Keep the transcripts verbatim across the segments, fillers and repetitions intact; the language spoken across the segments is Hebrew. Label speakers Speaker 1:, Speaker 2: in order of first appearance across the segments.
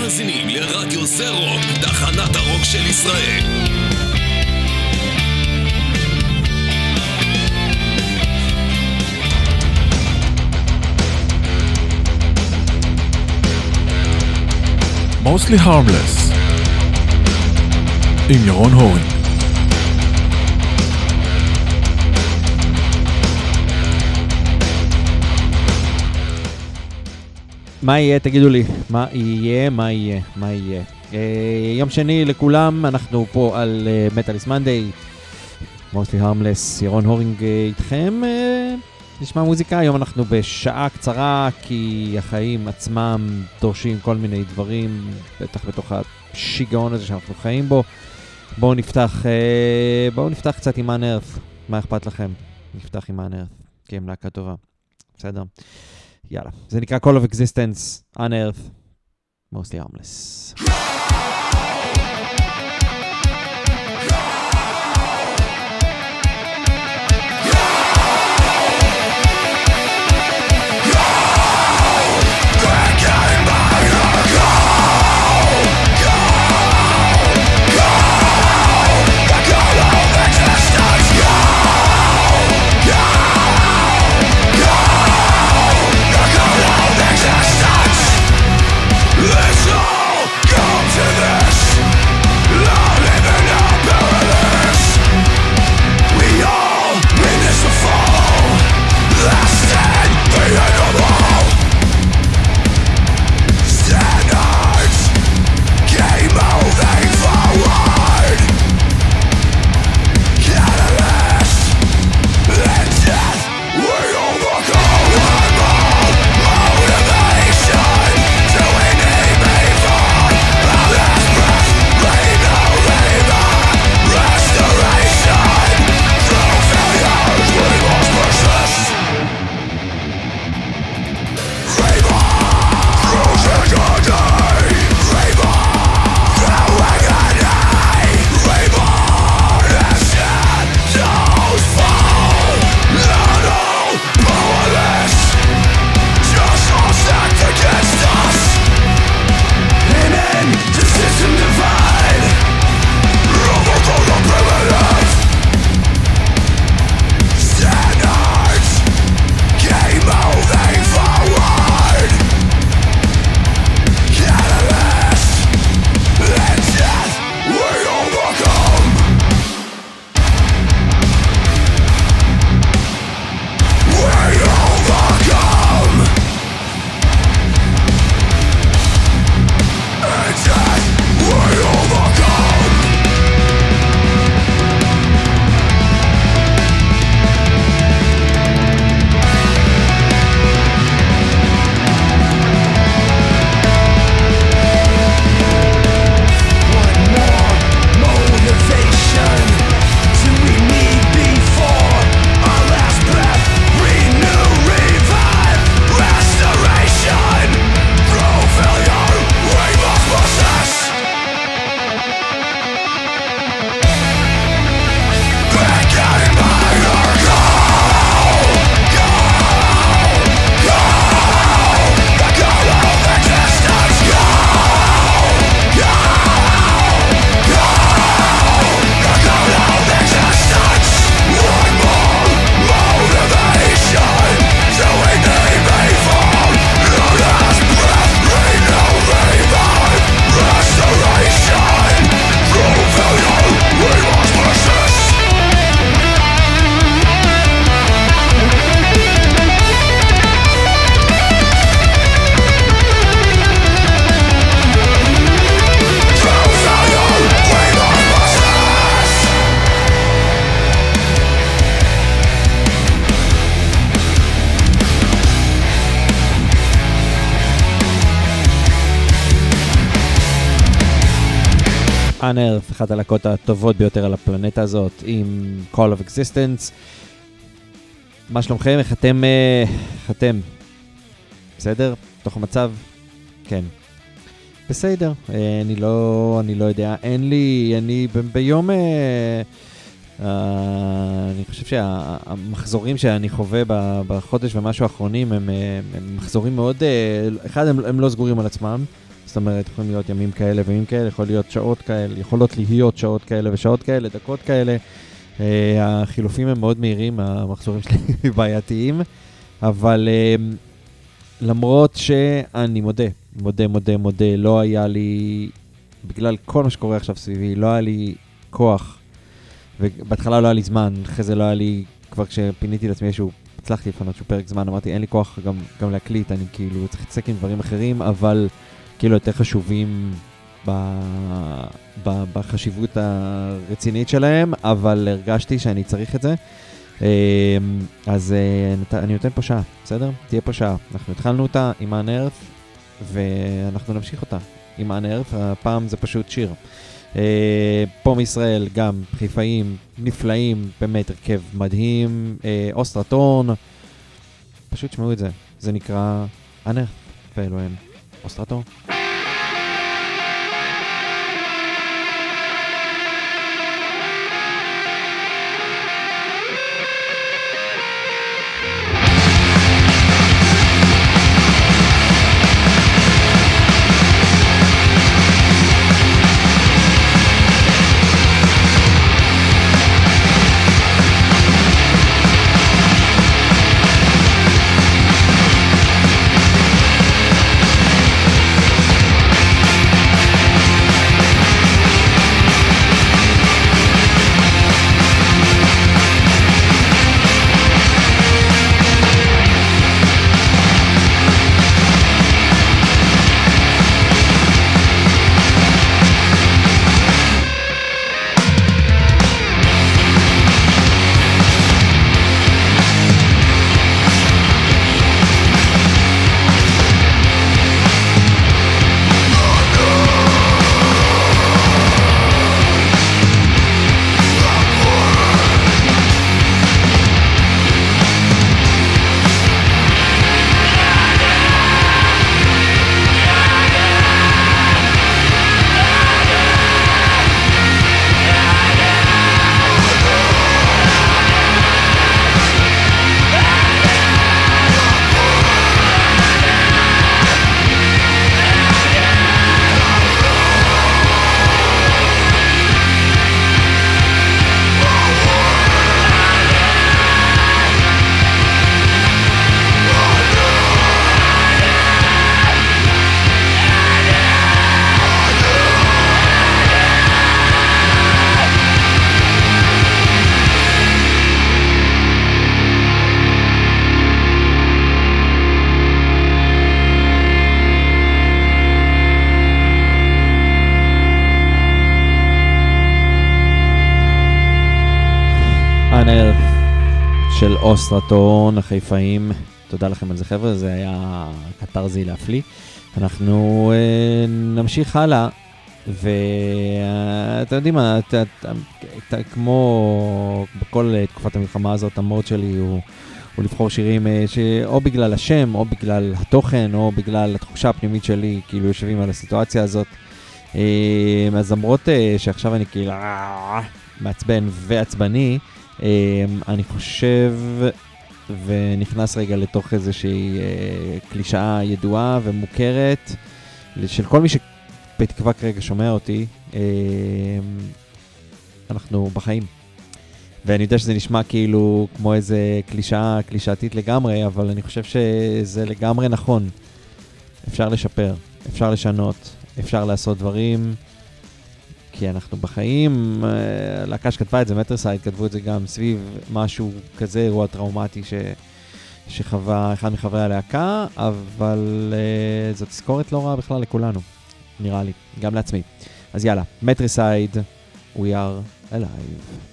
Speaker 1: מאזינים לרדיו זה רוק, תחנת הרוק של ישראל.
Speaker 2: Mostly Harmless עם ירון הורינג.
Speaker 3: מה יהיה? תגידו לי, מה יהיה? מה יהיה? מה יהיה? אה, יום שני לכולם, אנחנו פה על מטאליס מנדיי, Mostly Harmless, ירון הורינג איתכם. אה, נשמע מוזיקה, היום אנחנו בשעה קצרה, כי החיים עצמם דורשים כל מיני דברים, בטח בתוך השיגעון הזה שאנחנו חיים בו. בואו נפתח, אה, בואו נפתח קצת עם אנרף, מה אכפת לכם? נפתח עם אנרף, כי הם להקה טובה, בסדר? יאללה, זה נקרא Call of Existence, Unearth, Mostly Harmless. Unearth, אחת הלהקות הטובות ביותר על הפלנטה הזאת, עם Call of Existence. מה שלומכם? איך אתם? איך אתם? בסדר? תוך המצב? כן. בסדר. אני לא, אני לא יודע. אין לי, אני ב- ביום... Uh, אני חושב שהמחזורים שאני חווה בחודש ומשהו האחרונים הם, הם מחזורים מאוד, uh, אחד הם, הם לא סגורים על עצמם, זאת אומרת, יכולים להיות ימים כאלה וימים כאלה, יכול להיות שעות כאלה, יכולות להיות שעות כאלה ושעות כאלה, דקות כאלה. Uh, החילופים הם מאוד מהירים, המחזורים שלי בעייתיים, אבל uh, למרות שאני מודה, מודה, מודה, מודה, לא היה לי, בגלל כל מה שקורה עכשיו סביבי, לא היה לי כוח, ובהתחלה לא היה לי זמן, אחרי זה לא היה לי, כבר כשפיניתי לעצמי איזשהו, הצלחתי לפנות שהוא פרק זמן, אמרתי, אין לי כוח גם, גם להקליט, אני כאילו צריך להתעסק עם דברים אחרים, אבל כאילו יותר חשובים ב, ב, בחשיבות הרצינית שלהם, אבל הרגשתי שאני צריך את זה. אז אני נותן פה שעה, בסדר? תהיה פה שעה. אנחנו התחלנו אותה עם האנרף, ואנחנו נמשיך אותה עם האנרף. הפעם זה פשוט שיר. פה מישראל גם חיפאים נפלאים, באמת הרכב מדהים, אוסטרטון, פשוט שמעו את זה. זה נקרא אנרף, ואלו הם אוסטרטון. של אוסטרטון, החיפאים, תודה לכם על זה חבר'ה, זה היה קטרזי להפליא. אנחנו אה, נמשיך הלאה, ואתם יודעים מה, ת, ת, ת, כמו בכל תקופת המלחמה הזאת, המוד שלי הוא, הוא לבחור שירים שאו בגלל השם, או בגלל התוכן, או בגלל התחושה הפנימית שלי, כאילו יושבים על הסיטואציה הזאת. אה, אז למרות אה, שעכשיו אני כאילו אה, מעצבן ועצבני, אני חושב ונכנס רגע לתוך איזושהי קלישאה ידועה ומוכרת של כל מי שבתקווה כרגע שומע אותי, אנחנו בחיים. ואני יודע שזה נשמע כאילו כמו איזה קלישאה, קלישאתית לגמרי, אבל אני חושב שזה לגמרי נכון. אפשר לשפר, אפשר לשנות, אפשר לעשות דברים, כי אנחנו בחיים. להקה שכתבה את זה, מטרסייד, כתבו את זה גם סביב משהו כזה, אירוע טראומטי ש... שחווה אחד מחברי הלהקה, אבל uh, זאת תזכורת לא רעה בכלל לכולנו, נראה לי, גם לעצמי. אז יאללה, מטרסייד, we are alive.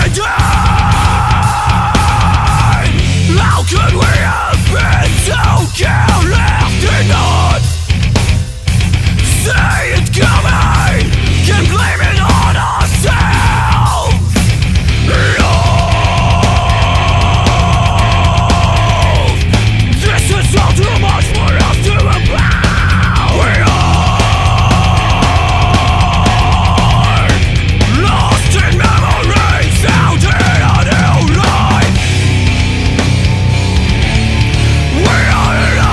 Speaker 1: How could we have been so careless to not see it coming? Can blame it on ourselves. Love, this is all too much for us to about. We are lost in memories, found in a new life. We are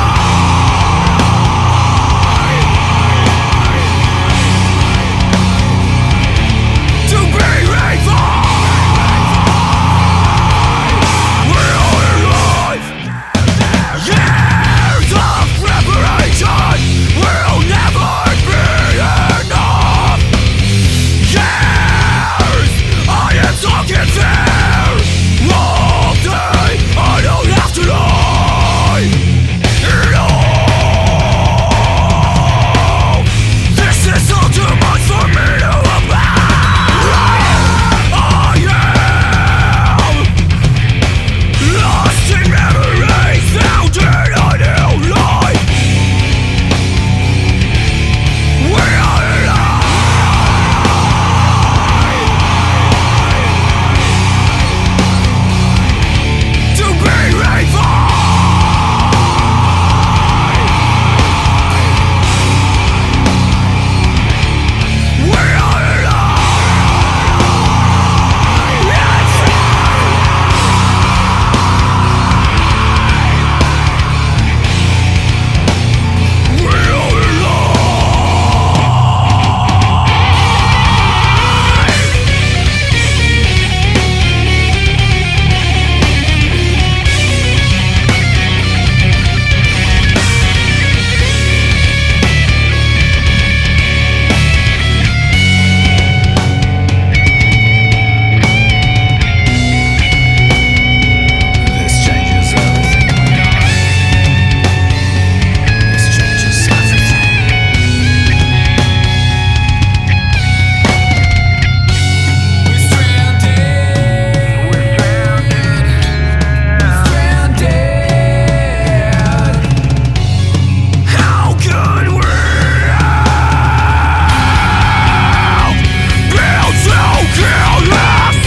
Speaker 1: alive to be revived. We are alive. Years of preparation will never be enough. Years I am talking there all day. I don't have to lie. No, this is all too much for me to about. I am lost in memories, found in a new life. We are alive to be revived. We are alive. Yes. We are This changes everything we are. This changes everything. We're stranded. We're stranded. How could we have been so careless?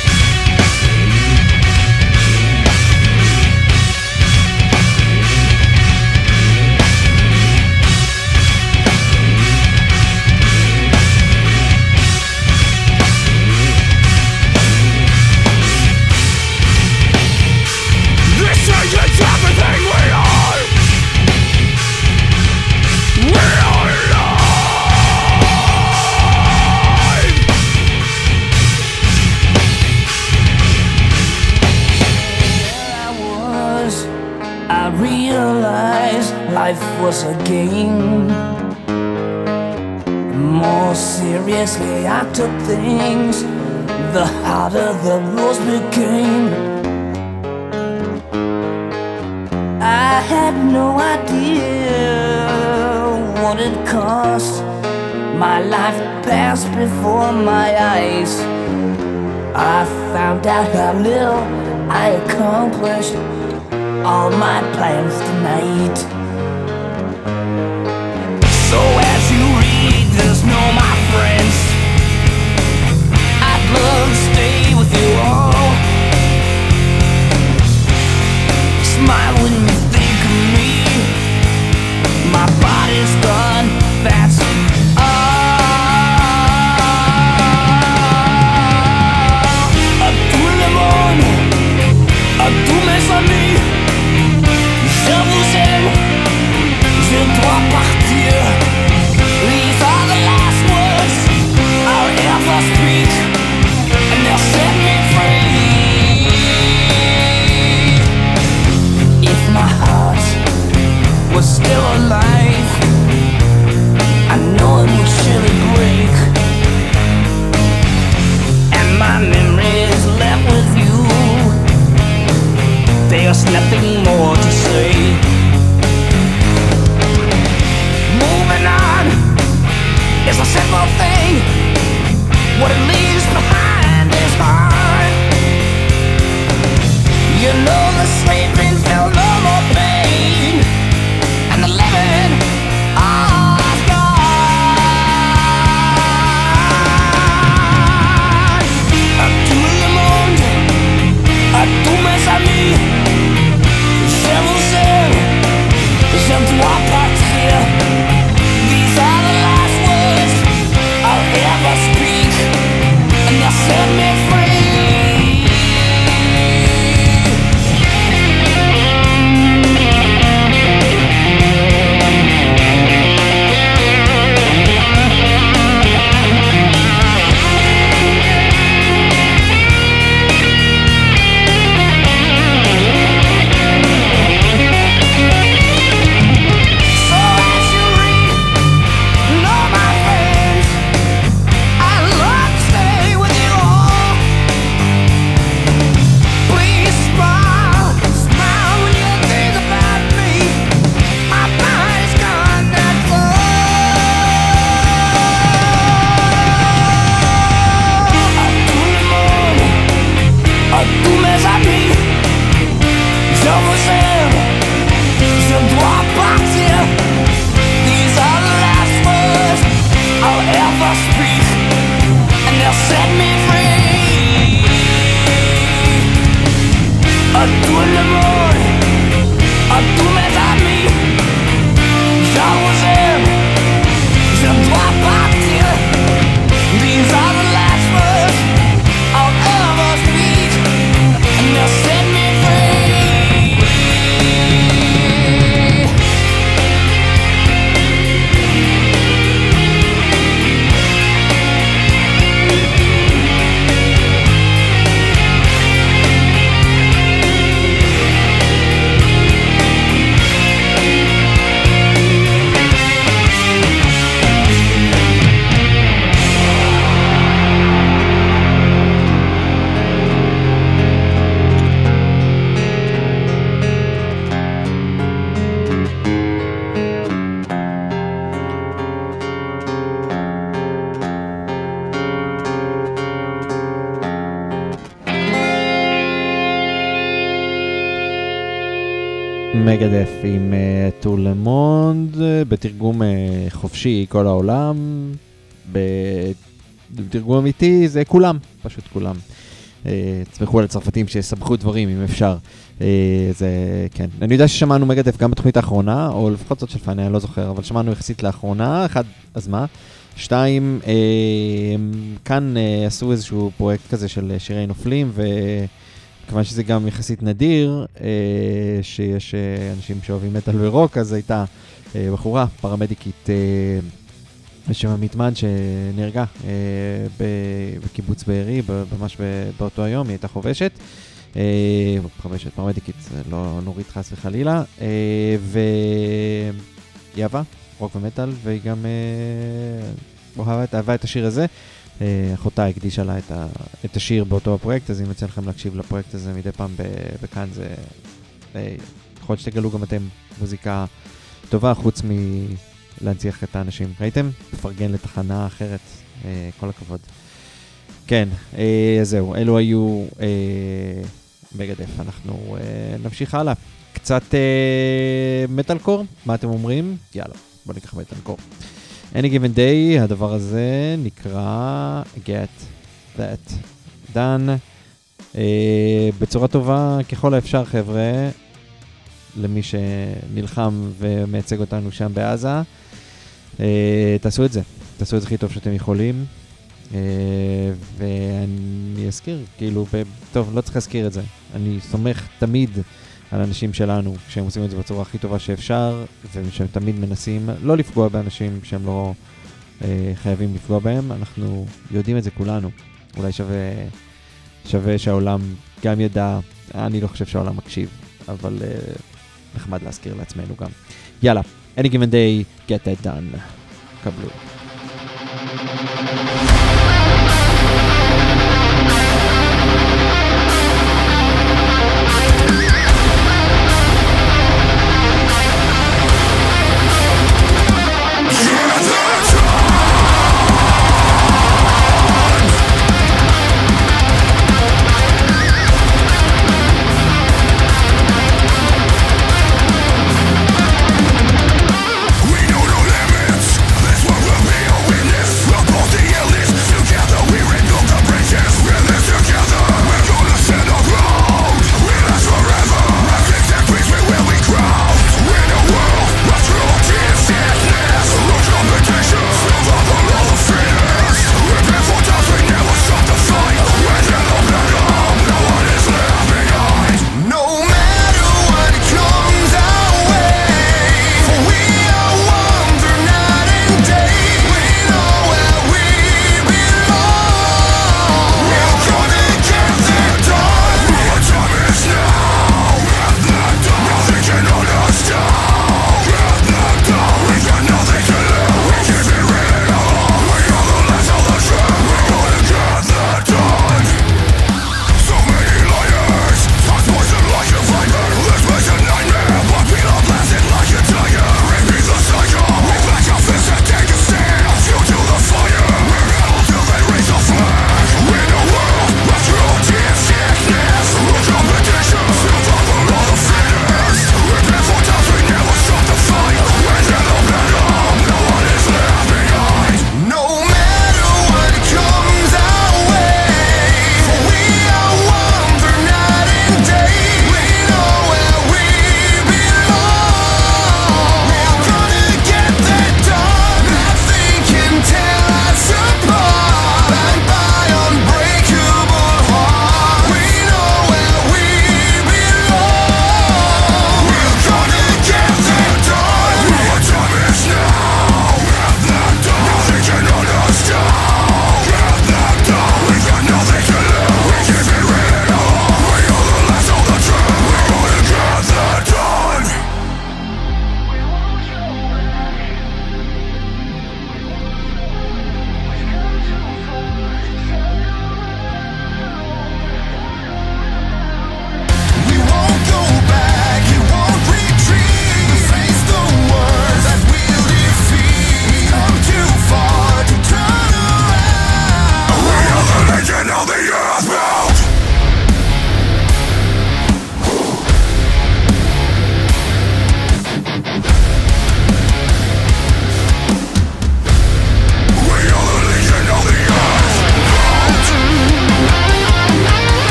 Speaker 1: This changes everything we are. We are alive.
Speaker 2: I was, I realized life was a game. The more seriously I took things, the harder the rules became. I had no idea what it cost. My life passed before my eyes. I found out how little I accomplished all my plans tonight. So as you read this, know my friends, I'd love to stay with you all. Smile when you think of me. My body's done, that's all. À tout le monde, à tous mes amis, je vous aime, je dois partir.
Speaker 3: מגדף עם טור למונד, בתרגום חופשי כל העולם, בתרגום אמיתי זה כולם, פשוט כולם. תסמכו על הצרפתים שיסבכו דברים אם אפשר. זה, כן. אני יודע ששמענו מגדף גם בתוכנית האחרונה, או לפחות זאת של פאני, אני לא זוכר, אבל שמענו יחסית לאחרונה, אחד, אז מה? שתיים, כאן עשו איזשהו פרויקט כזה של שירי נופלים, ו... כיוון שזה גם יחסית נדיר, אה, שיש אה, אנשים שאוהבים מטל ורוק, אז הייתה אה, בחורה, פרמדיקית, אה, בשם המתמן שנהרגה אה, בקיבוץ בארי, ממש באותו היום, היא הייתה חובשת, אה, חובשת, פרמדיקית, לא נורית חס וחלילה, אה, והיא אהבה, רוק ומטל, והיא גם אה, אהבה, אהבה את השיר הזה, אחותה הקדישה לה את, ה, את השיר באותו הפרויקט, אז אם יוצא לכם להקשיב לפרויקט הזה מדי פעם בכאן, זה יכול להיות שתגלו גם אתם מוזיקה טובה, חוץ מלהנציח את האנשים. ראיתם? פרגן לתחנה אחרת, כל הכבוד. כן, זהו, אלו היו מגדף, אנחנו נמשיך הלאה. קצת מטלקור, מה אתם אומרים? יאללה, בוא ניקח מטלקור. Any Given Day, הדבר הזה נקרא Get That Done. uh, בצורה טובה ככל האפשר, חבר'ה, למי שנלחם ומייצג אותנו שם בעזה, uh, תעשו את זה, תעשו את זה הכי טוב שאתם יכולים. uh, ואני אזכיר, כאילו, ב- טוב, לא צריך להזכיר את זה, אני סומך תמיד על אנשים שלנו, כשהם עושים את זה בצורה הכי טובה שאפשר, ושהם תמיד מנסים לא לפגוע באנשים שהם לא אה, חייבים לפגוע בהם. אנחנו יודעים את זה כולנו. אולי שווה, שווה שהעולם גם ידע, אני לא חושב שהעולם מקשיב, אבל אה, נחמד להזכיר לעצמנו גם. יאללה, any given day, get that done. קבלו.
Speaker 1: We know no limits. This world will be a witness. We'll both the illness.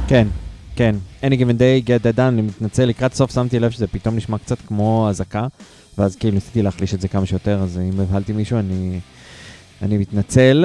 Speaker 3: כן, כן. Any given day, get that done, אני מתנצל, לקראת סוף שמתי לב שזה פתאום נשמע קצת כמו הזקה, ואז כאילו ניסיתי להחליש את זה כמה שיותר, אז אם הבהלתי מישהו, אני, אני מתנצל.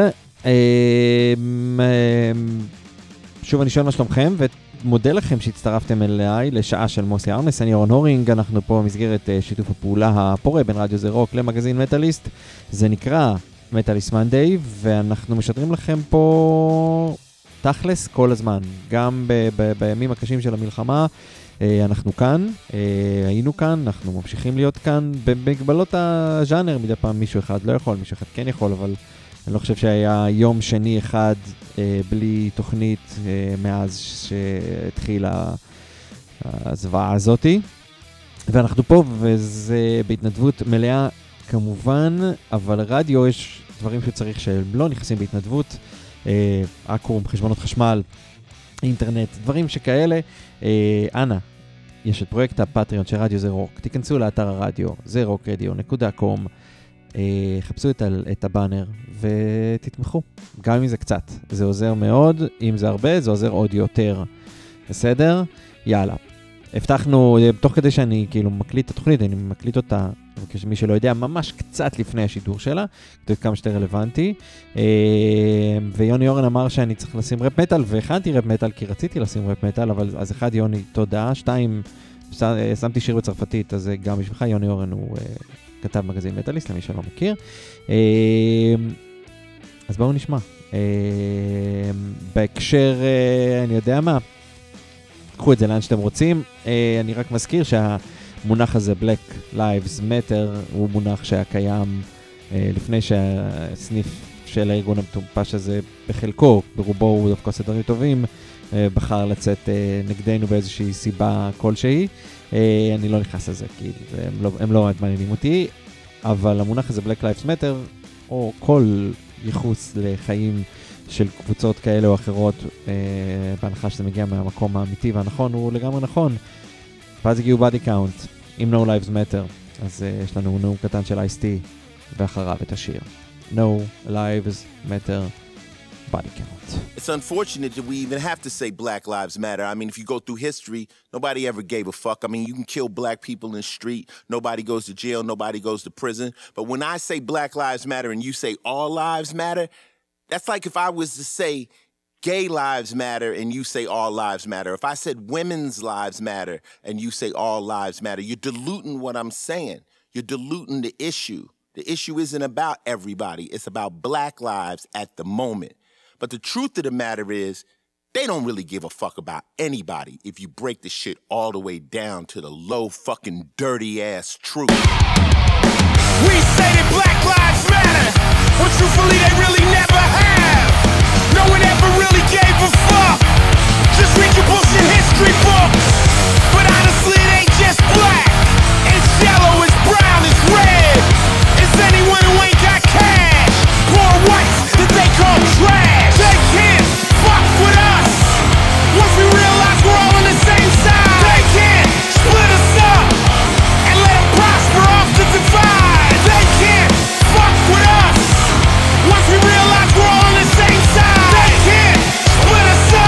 Speaker 3: שוב, אני שואל מה שלומכם, ומודה לכם שהצטרפתם אליי לשעה של מוסי ארמס, אני ירון הורינג, אנחנו פה במסגרת שיתוף הפעולה הפורה בין רדיו זה רוק למגזין מטאליסט, זה נקרא מטאליסט מנדיי, ואנחנו משדרים לכם פה תכלס כל הזמן, גם ב- ב- בימים הקשים של המלחמה, אנחנו כאן, היינו כאן, אנחנו ממשיכים להיות כאן, במגבלות הז'אנר, מדי פעם מישהו אחד לא יכול, מישהו אחד כן יכול, אבל אני לא חושב שהיה יום שני אחד בלי תוכנית מאז שהתחילה הזוועה הזאת, ואנחנו פה, וזה בהתנדבות מלאה כמובן, אבל רדיו יש דברים שצריך שהם לא נכנסים בהתנדבות, אקרום, חשבונות חשמל, אינטרנט, דברים שכאלה. אנא, יש את פרויקט הפטריון של רדיו זה רוק, תיכנסו לאתר הרדיו, זה רוק רדיו נקודה קום, חפשו את, את הבאנר ותתמכו, גם אם זה קצת, זה עוזר מאוד, אם זה הרבה זה עוזר עוד יותר, בסדר? יאללה. הבטחנו, תוך כדי שאני כאילו מקליט את התוכנית, אני מקליט אותה, כשמי שלא יודע, ממש קצת לפני השידור שלה, כדי כמה שיותר רלוונטי, ויוני אורן אמר שאני צריך לשים רפ מטל, והכנתי רפ מטל כי רציתי לשים רפ מטל, אבל אז אחד יוני, תודה, שתיים, שמתי שיר בצרפתית, אז גם בשבילך יוני אורן הוא כתב מגזין מטאליסט, למי שלא מכיר. אז בואו נשמע. בהקשר, אני יודע מה, קחו את זה לאן שאתם רוצים. אני רק מזכיר שהמונח הזה, Black Lives Matter, הוא מונח שהיה קיים לפני שהסניף של הארגון המטומפש הזה בחלקו, ברובו הוא דווקא עושה דברים טובים, בחר לצאת נגדנו באיזושהי סיבה כלשהי. אני לא נכנס לזה, כי הם לא, הם לא מעניינים אותי, אבל המונח הזה, Black Lives Matter, או כל ייחוס לחיים של קבוצות כאלה או אחרות, אה, בהנחה שזה מגיע מהמקום האמיתי והנכון, הוא לגמרי נכון. ואז הגיעו body count, עם No Lives Matter, אז אה, יש לנו נאום קטן של אייס-טי, ואחריו את השיר. No Lives Matter, body count.
Speaker 4: It's unfortunate that we even have to say Black Lives Matter. I mean, if you go through history, nobody ever gave a fuck. I mean, you can kill black people in the street, nobody goes to jail, nobody goes to prison. But when I say Black Lives Matter and you say all lives matter, that's like if I was to say gay lives matter and you say all lives matter. If I said women's lives matter and you say all lives matter, you're diluting what I'm saying. You're diluting the issue. The issue isn't about everybody. It's about black lives at the moment. But the truth of the matter is, they don't really give a fuck about anybody if you break the shit all the way down to the low fucking dirty ass truth.
Speaker 1: We say that black lives matter, but truthfully they really never have. No one ever really gave a fuck. Just read your bullshit history books. But honestly it ain't just black. It's yellow, it's brown, it's red. It's anyone who ain't got cash. Poor whites that they call trash. They can't fuck with us. Once we realize we're all on the same side. They can't split us up and let them prosper off the divide. They can't fuck with us. Once we realize we're all on the same side. They can't split us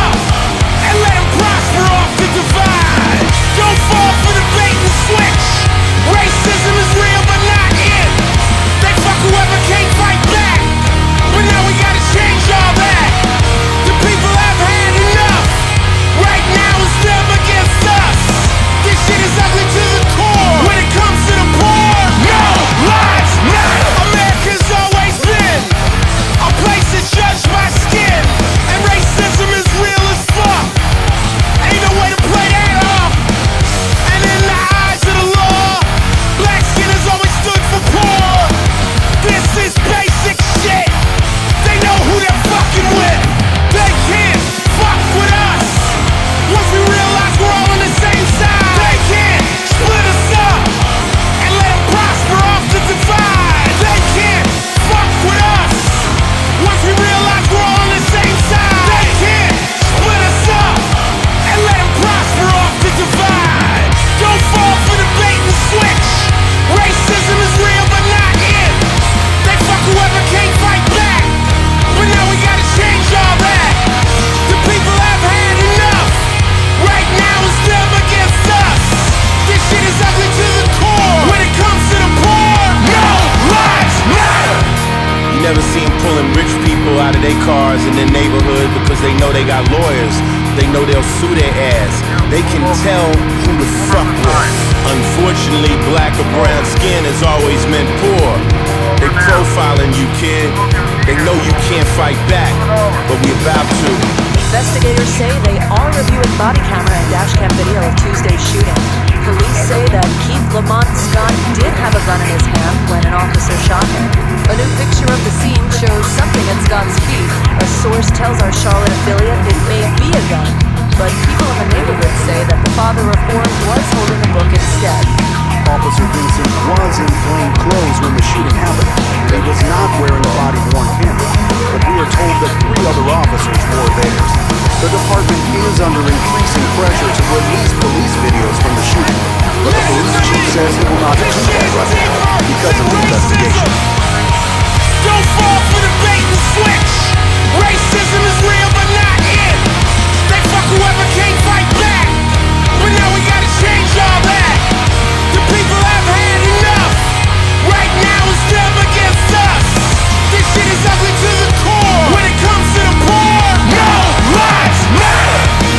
Speaker 4: cause they know they got lawyers. They know they'll sue their ass. They can tell who to fuck with. Unfortunately, black or brown skin has always meant poor. They profiling you, kid. They know you can't fight back, but we about to.
Speaker 5: Investigators say they are reviewing body camera and dashcam video of Tuesday's shooting. Police say that Keith Lamont Scott did have a gun in his hand when an officer shot him. A new picture of the scene shows something at Scott's feet. A source tells our Charlotte affiliate it may be a gun, but people in the neighborhood say that the father reformed was holding a book instead.
Speaker 6: Officer Vincent was in plain clothes when the shooting happened. He was not wearing a body-worn camera, but we are told that three other officers wore theirs. The department is under increasing pressure to release police videos from the shooting, but the police chief says he will not do that right now because of the investigation.
Speaker 1: Don't fall for the bait and switch. Racism is real but not it. They fuck whoever can't fight back. But now we gotta change all that. The people have had enough. Right now it's them against us. This shit is ugly to the core. When it comes to the poor, no lives matter.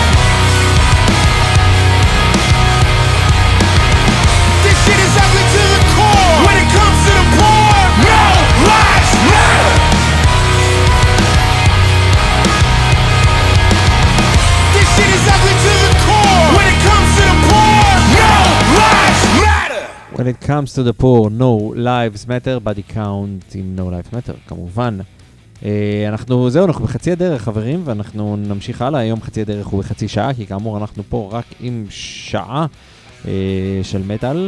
Speaker 1: This shit is ugly to the core. When it comes to the poor, no lives matter. This shit is ugly to the core. When it comes to the poor, no lives matter.
Speaker 3: When it comes to the poor, no lives matter, body count עם no lives matter, כמובן. אנחנו, זהו, אנחנו בחצי הדרך, חברים, ואנחנו נמשיך הלאה. היום חצי הדרך הוא בחצי שעה, כי כאמור אנחנו פה רק עם שעה של מטל.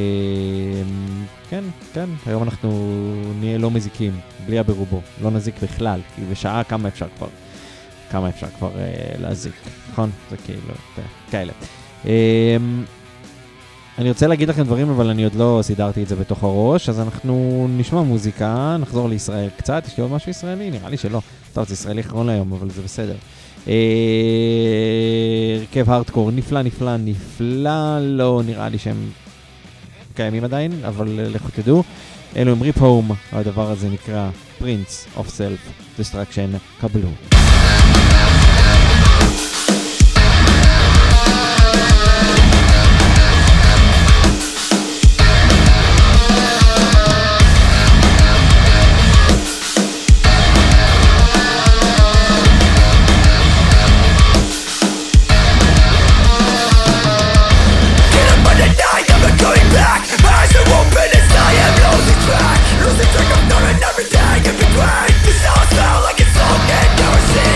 Speaker 3: כן, כן, היום אנחנו נהיה לא מזיקים, בלי הברובו, לא נזיק בכלל, כי בשעה כמה אפשר כבר, כמה אפשר כבר להזיק, נכון? זה כאילו, כאלה. אני רוצה להגיד לכם דברים, אבל אני עוד לא סידרתי את זה בתוך הראש, אז אנחנו נשמע מוזיקה, נחזור לישראל קצת. יש לי עוד משהו ישראלי? נראה לי שלא. טוב, זה ישראלי אחרון להיום, אבל זה בסדר. הרכב הארדקור, נפלא, נפלא, נפלא, לא נראה לי שהם קיימים עדיין, אבל לכו תדעו. אלו הם ריפ הום, הדבר הזה נקרא Prince of Self Destruction, קבלו.
Speaker 2: Losing track of knowing everything in between. This all sound like it's all and never seen.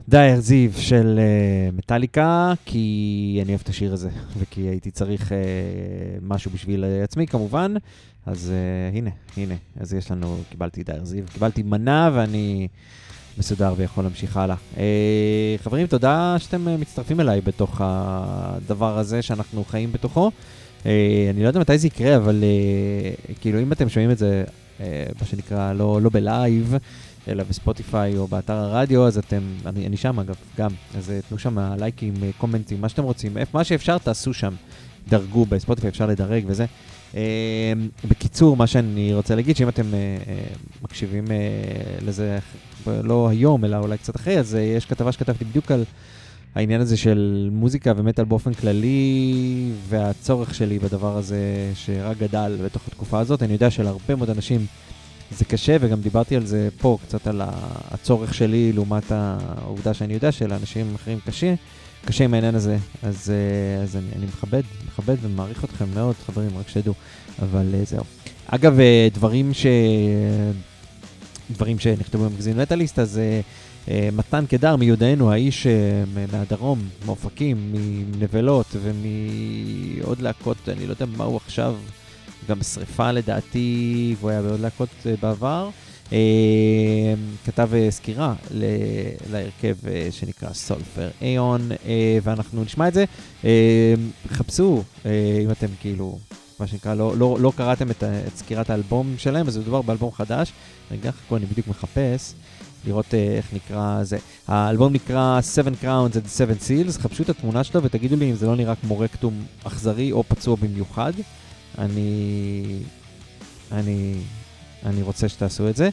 Speaker 3: דייר זיו של uh, מטליקה, כי אני אוהב את השיר הזה, וכי הייתי צריך uh, משהו בשביל uh, עצמי כמובן, אז uh, הנה, הנה, אז יש לנו, קיבלתי דייר זיו, קיבלתי מנה ואני מסודר ויכול להמשיך הלאה. Uh, חברים, תודה שאתם uh, מצטרפים אליי בתוך הדבר הזה שאנחנו חיים בתוכו. Uh, אני לא יודע מתי זה יקרה, אבל uh, כאילו אם אתם שומעים את זה, uh, מה שנקרא, לא, לא בלייב, אלא בספוטיפיי או באתר הרדיו, אז אתם, אני, אני שם אגב, גם, אז תנו שם לייקים, קומנטים, מה שאתם רוצים, מה שאפשר תעשו שם, דרגו בספוטיפיי, אפשר לדרג וזה. אה, בקיצור, מה שאני רוצה להגיד, שאם אתם אה, אה, מקשיבים אה, לזה, לא היום, אלא אולי קצת אחרי, אז אה, יש כתבה שכתבתי בדיוק על העניין הזה של מוזיקה ומטל באופן כללי, והצורך שלי בדבר הזה שרק גדל בתוך התקופה הזאת. אני יודע שלהרבה מאוד אנשים זה קשה, וגם דיברתי על זה פה, קצת על הצורך שלי, לעומת העובדה שאני יודע שלאנשים אחרים קשה, קשה עם העניין הזה, אז, אז אני, אני מכבד, מכבד ומעריך אתכם מאוד, חברים, רק שתדעו, אבל זהו. אגב, דברים ש... דברים שנכתבו במגזין מטליסט, אז מתן קדר מיודענו, האיש מהדרום, מאופקים, מנבלות ומעוד להקות, אני לא יודע מה הוא עכשיו, גם שריפה לדעתי, והוא היה בעוד להקות בעבר, כתב סקירה להרכב שנקרא סולפר איון, ואנחנו נשמע את זה. חפשו, אם אתם כאילו, מה שנקרא, לא, לא, לא קראתם את, את סקירת האלבום שלהם, אז זה מדובר באלבום חדש. רגע, חכו, אני בדיוק מחפש, לראות איך נקרא זה. האלבום נקרא Seven Crowns and Seven Seals, חפשו את התמונה שלו ותגידו לי אם זה לא נראה כמו רקטום אכזרי או פצוע במיוחד. אני, אני, אני רוצה שתעשו את זה.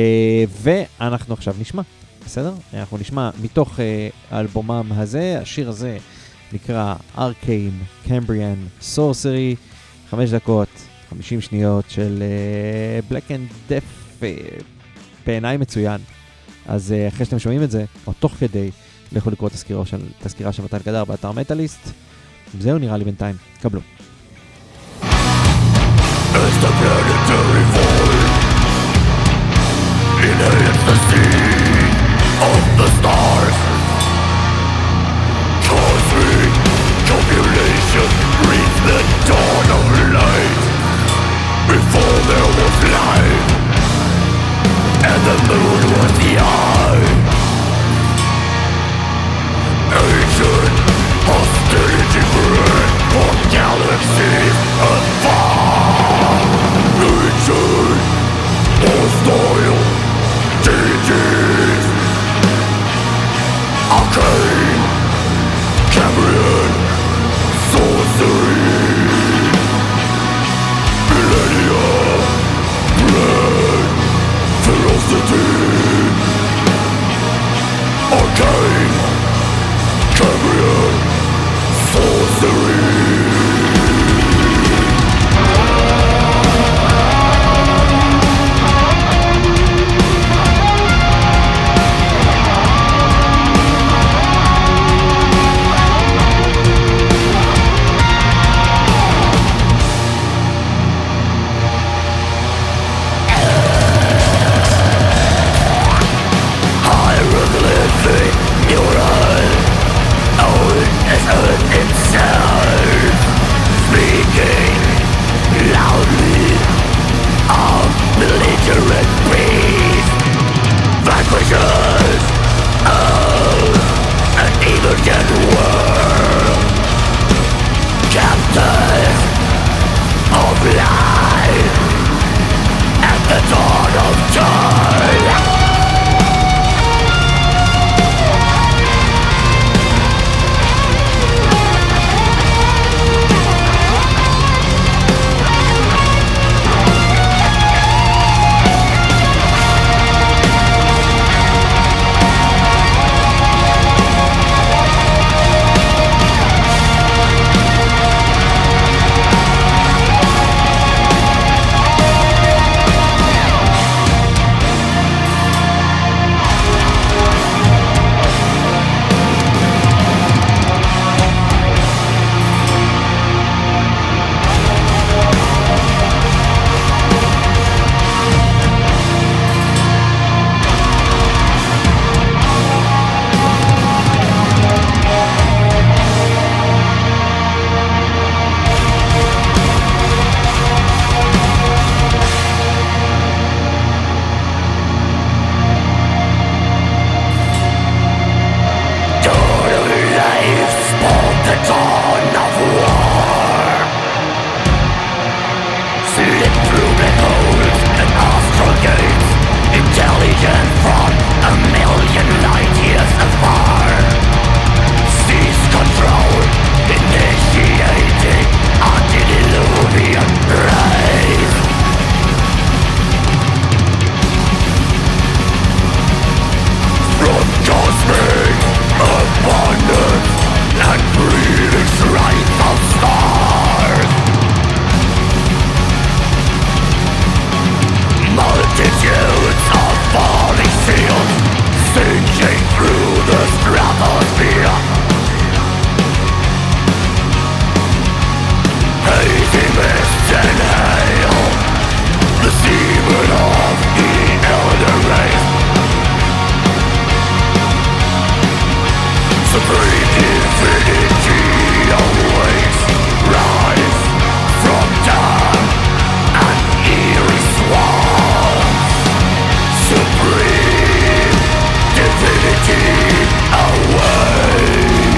Speaker 3: ואנחנו עכשיו נשמע, בסדר? אנחנו נשמע מתוך האלבומם הזה, השיר הזה נקרא Arcane Cambrian Sorcery, חמש דקות, חמישים שניות של Black and Death, בעיניי מצוין. אז אחרי שאתם שומעים את זה, או תוך כדי, לכו לקרוא את הסקירה של מתן קדר באתר מטליסט. זהו נראה לי בינתיים, קבלו.
Speaker 7: As the planetary void inhales the sea of the stars, cosmic copulation reads the dawn of light. Before there was light, and the moon was the eye. Ancient hostility bred for galaxies afar. Ancient hostile deities. Arcane Cambrian sorcery. Millennia bred ferocity. Arcane Cambrian sorcery. Your eyes, own as earth itself. million light years apart. Seize control, initiating antediluvian rays. From cosmic abundance and breathing strength of stars, multitudes of falling seals sinking through the stratosphere. Hazy mists and hail, the semen of the elder race. Supreme infinity awaits, rise from dawn and eerie swans. Supreme divinity awaits.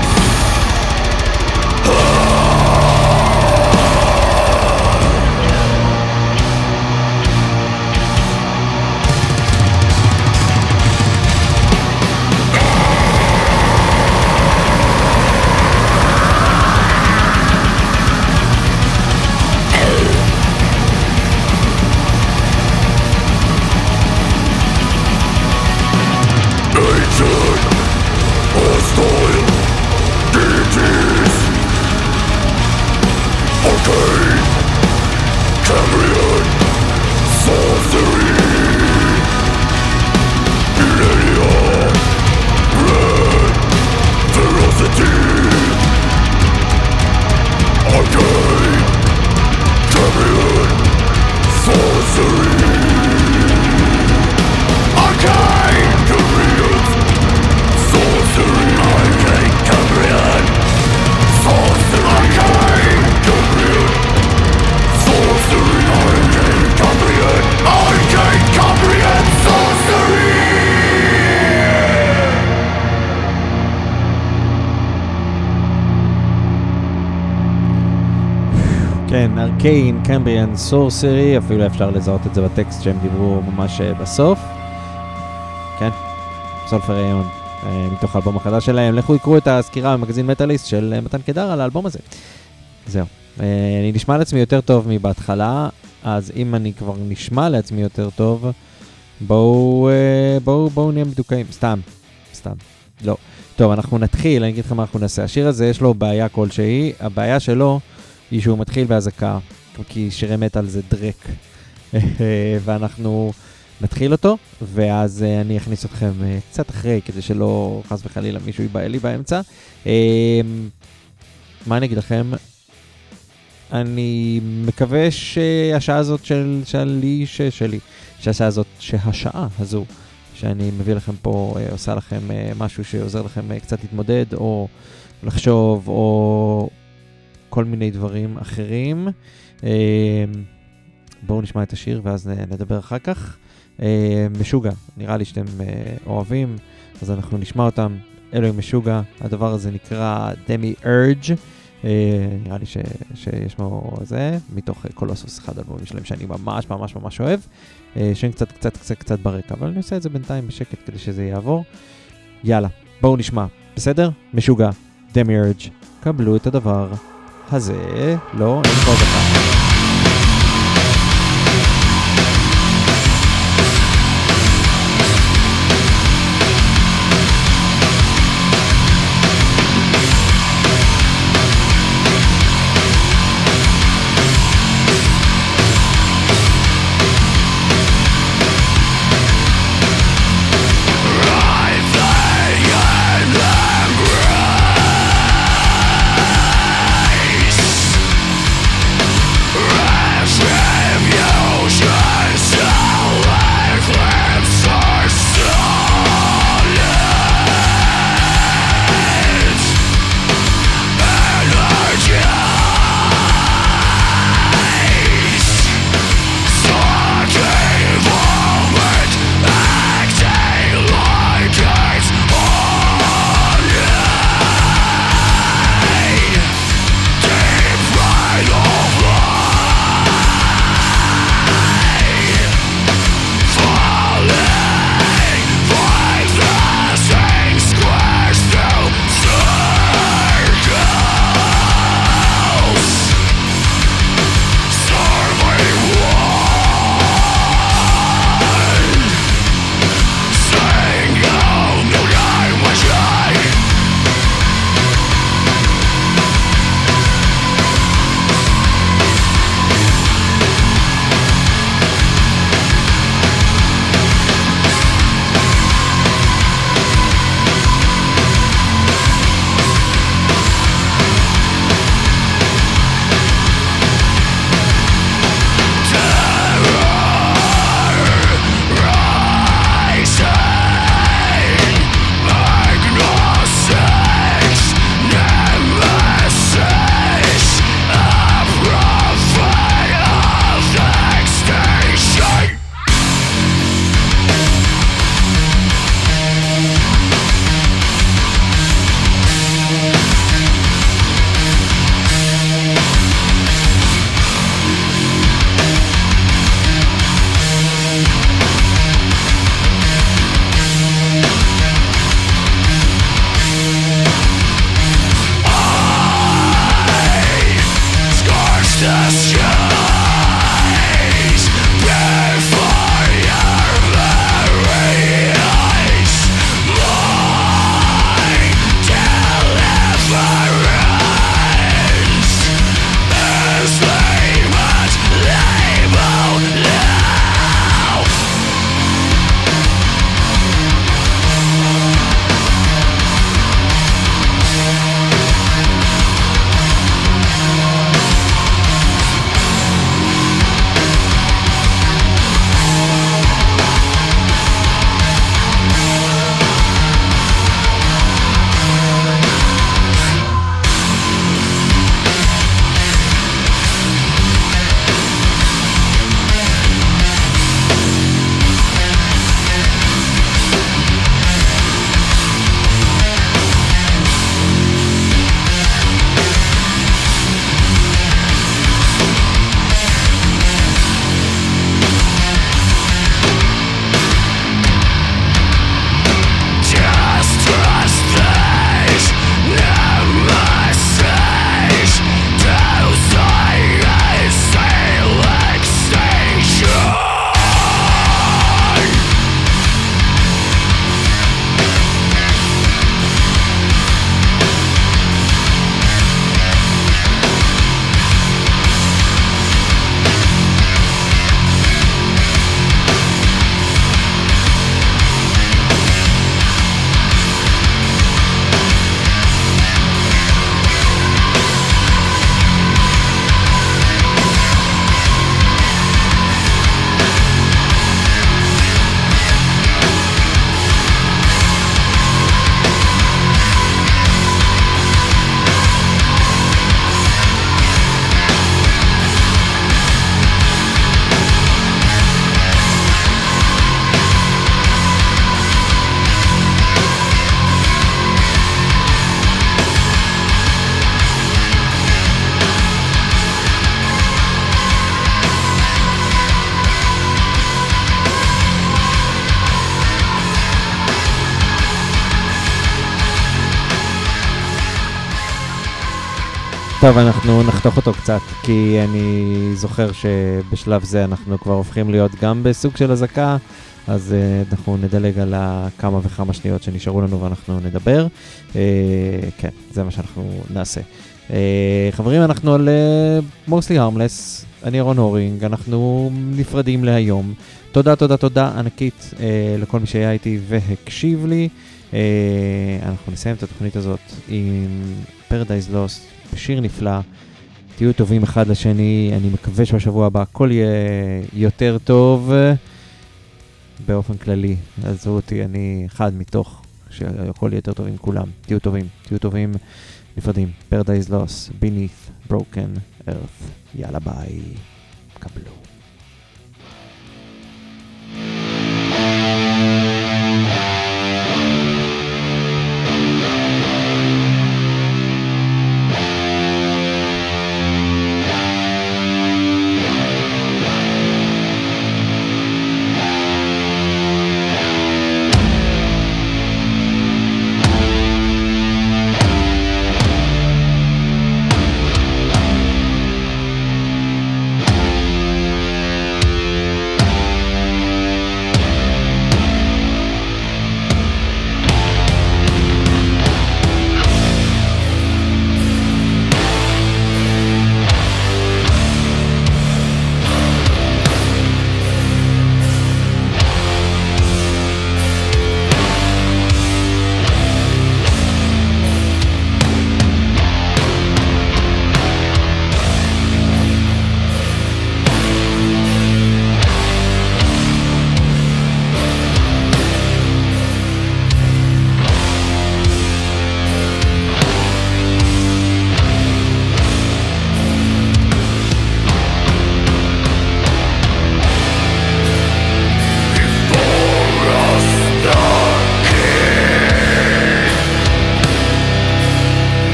Speaker 7: Ancient, hostile deities, arcane, Cambrian, sorcery, millennia, red, ferocity, arcane, Cambrian, sorcery, arcane, Cambrian, sorcery, arcane, Cambrian, sorcery, arcane, Cambrian, sorcery, arcane, Cambrian, arcane, Cambrian, sorcery.
Speaker 3: כן, ארקיין, קמבריאן, סורסרי, אפילו אפשר לזהות את זה בטקסט שהם דיברו ממש בסוף. כן, סולפריון, מתוך האלבום החדש שלהם. לכו יקראו את הסקירה במגזין מטאליסט של מתן קדר על האלבום הזה. זהו. אני נשמע לעצמי יותר טוב מבהתחלה, אז אם אני כבר נשמע לעצמי יותר טוב, בואו, בואו, בואו נהיה מדוקאים. סתם, סתם. לא. טוב, אנחנו נתחיל, אני אגיד לכם מה אנחנו נעשה. השיר הזה יש לו בעיה כלשהי, הבעיה שלו היא שהוא מתחיל בהזקה, כי שירי מטל זה דרק, ואנחנו נתחיל אותו, ואז אני אכניס אתכם קצת אחרי, כדי שלא חס וחלילה מישהו ייבא לי באמצע. מה אני אגיד לכם? אני מקווה שהשעה הזאת של, שלי, שלי, שהשעה הזאת, שהשעה הזו, שאני מביא לכם פה, עושה לכם משהו שעוזר לכם קצת להתמודד, או לחשוב, או כל מיני דברים אחרים. בואו נשמע את השיר ואז נדבר אחר כך. משוגע, נראה לי שאתם אוהבים, אז אנחנו נשמע אותם. אלוהים משוגע, הדבר הזה נקרא דמי ארג', נראה לי ש, שיש לו זה, מתוך קולוסוס, אחד אלבומים שלהם שאני ממש ממש ממש אוהב, שהם קצת קצת קצת קצת ברקע, אבל אני עושה את זה בינתיים בשקט כדי שזה יעבור. יאללה, בואו נשמע, בסדר? משוגע, דמי ארג', קבלו את הדבר הזה, לא, אין פה דקה.
Speaker 7: Rise
Speaker 3: טוב, אנחנו נחתוך אותו קצת, כי אני זוכר שבשלב זה אנחנו כבר הופכים להיות גם בסוג של הזקה, אז uh, אנחנו נדלג על כמה וכמה שניות שנשארו לנו ואנחנו נדבר. Uh, כן, זה מה שאנחנו נעשה. Uh, חברים, אנחנו על uh, Mostly Harmless, אני ירון הורינג, אנחנו נפרדים להיום. תודה, תודה, תודה ענקית uh, לכל מי שהיה איתי והקשיב לי. Uh, אנחנו נסיים את התוכנית הזאת עם Paradise Lost, בשיר נפלא. תהיו טובים אחד לשני, אני מקווה שבשבוע הבא הכל יהיה יותר טוב. באופן כללי, עזבו אותי, אני אחד מתוך שהכל יהיה יותר טוב עם כולם. תהיו טובים, תהיו טובים, נפרדים. Paradise Lost, Beneath Broken Earth. יאללה ביי, קבלו.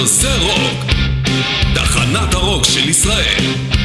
Speaker 8: עושה רוק, תחנת הרוק של ישראל.